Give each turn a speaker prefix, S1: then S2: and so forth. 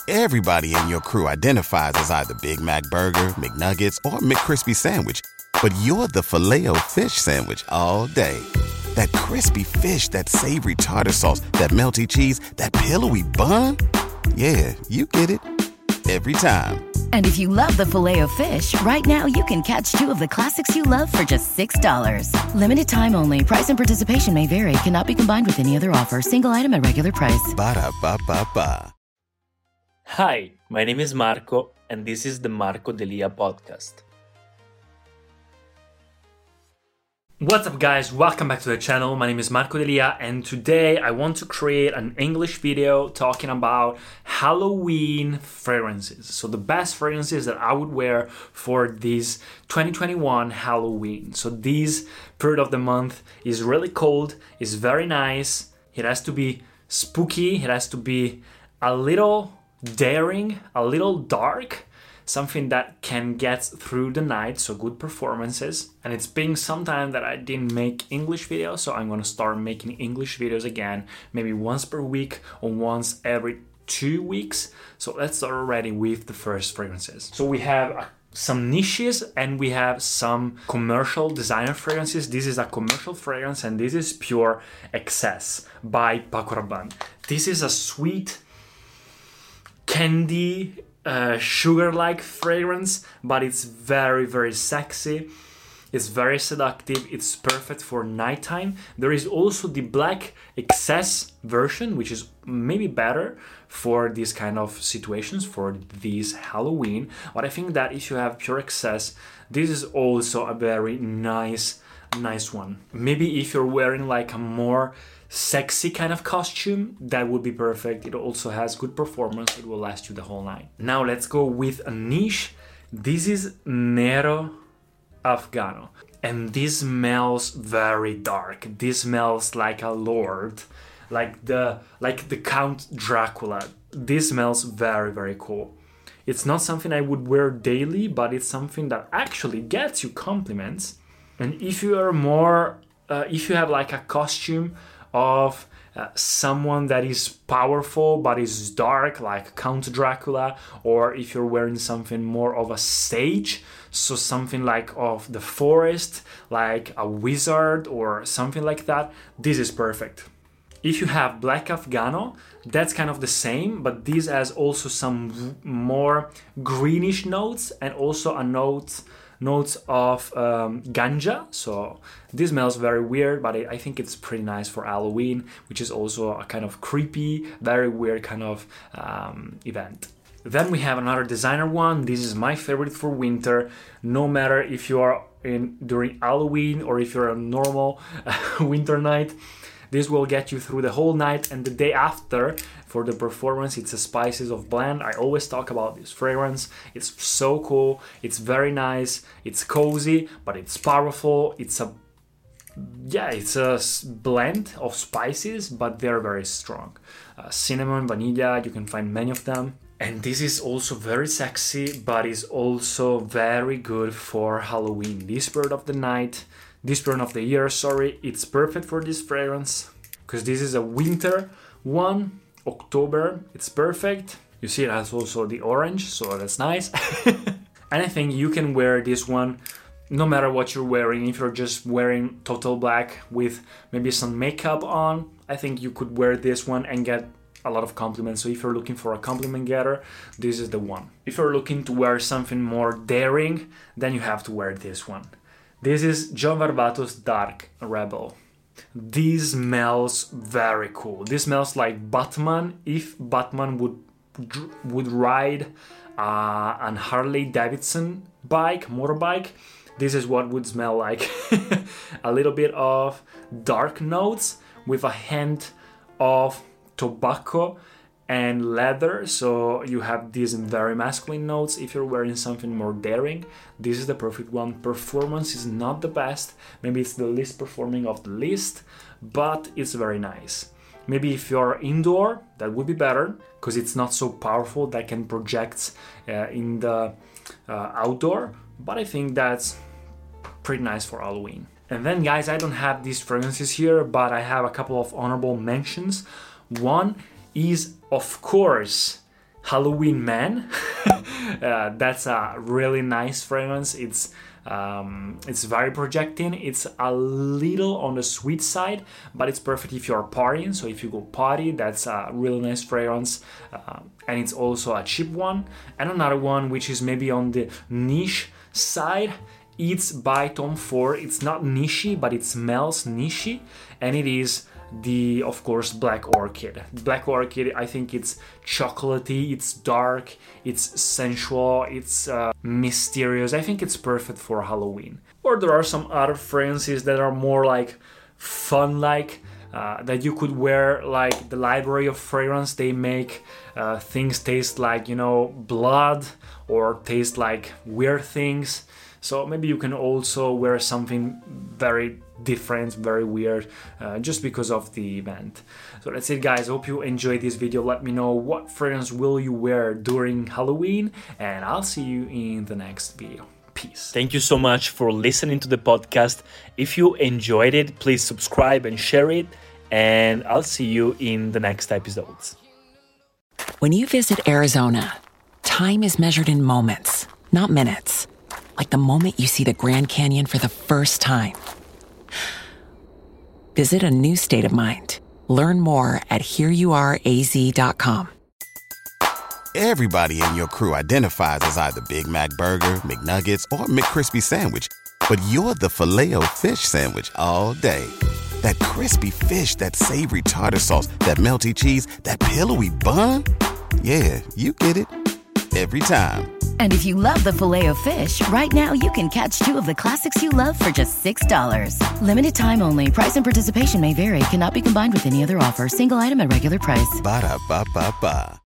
S1: Everybody in your crew identifies as either Big Mac Burger, McNuggets, or McCrispy Sandwich. But you're the Filet-O-Fish Sandwich all day. That crispy fish, that savory tartar sauce, that melty cheese, that pillowy bun. Yeah, you get it. Every time.
S2: And if you love the Filet-O-Fish, right now you can catch two of the classics you love for just $6. Limited time only. Price and participation may vary. Cannot be combined with any other offer. Single item at regular price.
S1: Ba-da-ba-ba-ba.
S3: Hi, my name is Marco, and this is the Marco Delia podcast. What's up guys, welcome back to the channel. My name is Marco Delia, and today I want to create an English video talking about Halloween fragrances. So the best fragrances that I would wear for this 2021 Halloween. So this period of the month is really cold, it's very nice, it has to be spooky, it has to be a little daring, a little dark, something that can get through the night, so good performances. And it's been some time that I didn't make English videos, so I'm gonna start making English videos again, maybe once per week or once every 2 weeks. So let's start already with the first fragrances. So we have some niches and we have some commercial designer fragrances. This is a commercial fragrance and this is Pure Excess by Paco Rabanne. This is a sweet candy sugar-like fragrance, but it's very, very sexy. It's very seductive. It's perfect for nighttime. There is also the Black Excess version, which is maybe better for these kind of situations, for this Halloween. But I think that if you have Pure Excess, this is also a very nice one. Maybe if you're wearing like a more sexy kind of costume, that would be perfect. It also has good performance. It will last you the whole night. Now let's go with a niche. This is Nero Afgano, and this smells very dark. This smells like a lord, like the Count Dracula. This smells very, very cool. It's not something I would wear daily, but it's something that actually gets you compliments. And if you are more if you have like a costume of someone that is powerful but is dark, like Count Dracula, or if you're wearing something more of a sage, so something like of the forest, like a wizard or something like that, this is perfect. If you have Black Afgano, that's kind of the same, but this has also some more greenish notes and also a notes of ganja. So this smells very weird, but I think it's pretty nice for Halloween, which is also a kind of creepy, very weird kind of event. Then we have another designer one. This is my favorite for winter. No matter if you are during Halloween or if you're a normal winter night, this will get you through the whole night and the day after. For the performance, it's a Spices of Blend. I always talk about this fragrance. It's so cool. It's very nice. It's cozy, but it's powerful. It's a blend of spices, but they're very strong. Cinnamon, vanilla, you can find many of them. And this is also very sexy, but is also very good for Halloween. This period of the year, it's perfect for this fragrance because this is a winter one. October, it's perfect. You see it has also the orange, so that's nice. And I think you can wear this one no matter what you're wearing. If you're just wearing total black with maybe some makeup on, I think you could wear this one and get a lot of compliments. So if you're looking for a compliment getter, this is the one. If you're looking to wear something more daring, then you have to wear this one. This is John Varvatos Dark Rebel. This smells very cool. This smells like Batman. If Batman would ride an Harley Davidson motorbike, this is what would smell like. A little bit of dark notes with a hint of tobacco and leather, so you have these very masculine notes. If you're wearing something more daring, this is the perfect one. Performance is not the best, maybe it's the least performing of the list, but it's very nice. Maybe if you're indoor, that would be better because it's not so powerful that can project in the outdoor, but I think that's pretty nice for Halloween. And then guys, I don't have these fragrances here, but I have a couple of honorable mentions. One is, of course, Halloween Man. That's a really nice fragrance. It's very projecting. It's a little on the sweet side, but it's perfect if you're partying. So if you go party, that's a really nice fragrance, and it's also a cheap one. And another one which is maybe on the niche side, it's by Tom Ford. It's not nichey, but it smells nichey, and it is of course, Black Orchid. Black Orchid, I think it's chocolatey, it's dark, it's sensual, it's mysterious. I think it's perfect for Halloween. Or there are some other fragrances that are more like fun-like, that you could wear, like the Library of Fragrance. They make things taste like, blood, or taste like weird things. So maybe you can also wear something very different, very weird, just because of the event. So that's it, guys. Hope you enjoyed this video. Let me know what fragrance will you wear during Halloween, and I'll see you in the next video. Peace. Thank you so much for listening to the podcast. If you enjoyed it, please subscribe and share it, and I'll see you in the next episodes.
S4: When you visit Arizona, time is measured in moments, not minutes. Like the moment you see the Grand Canyon for the first time. Visit a new state of mind. Learn more at hereyouareaz.com.
S1: Everybody in your crew identifies as either Big Mac Burger, McNuggets, or McCrispy Sandwich. But you're the Filet-O-Fish Sandwich all day. That crispy fish, that savory tartar sauce, that melty cheese, that pillowy bun. Yeah, you get it. Every time.
S2: And if you love the Filet-O-Fish, right now you can catch 2 of the classics you love for just $6. Limited time only. Price and participation may vary. Cannot be combined with any other offer. Single item at regular price.
S1: Ba-da-ba-ba-ba.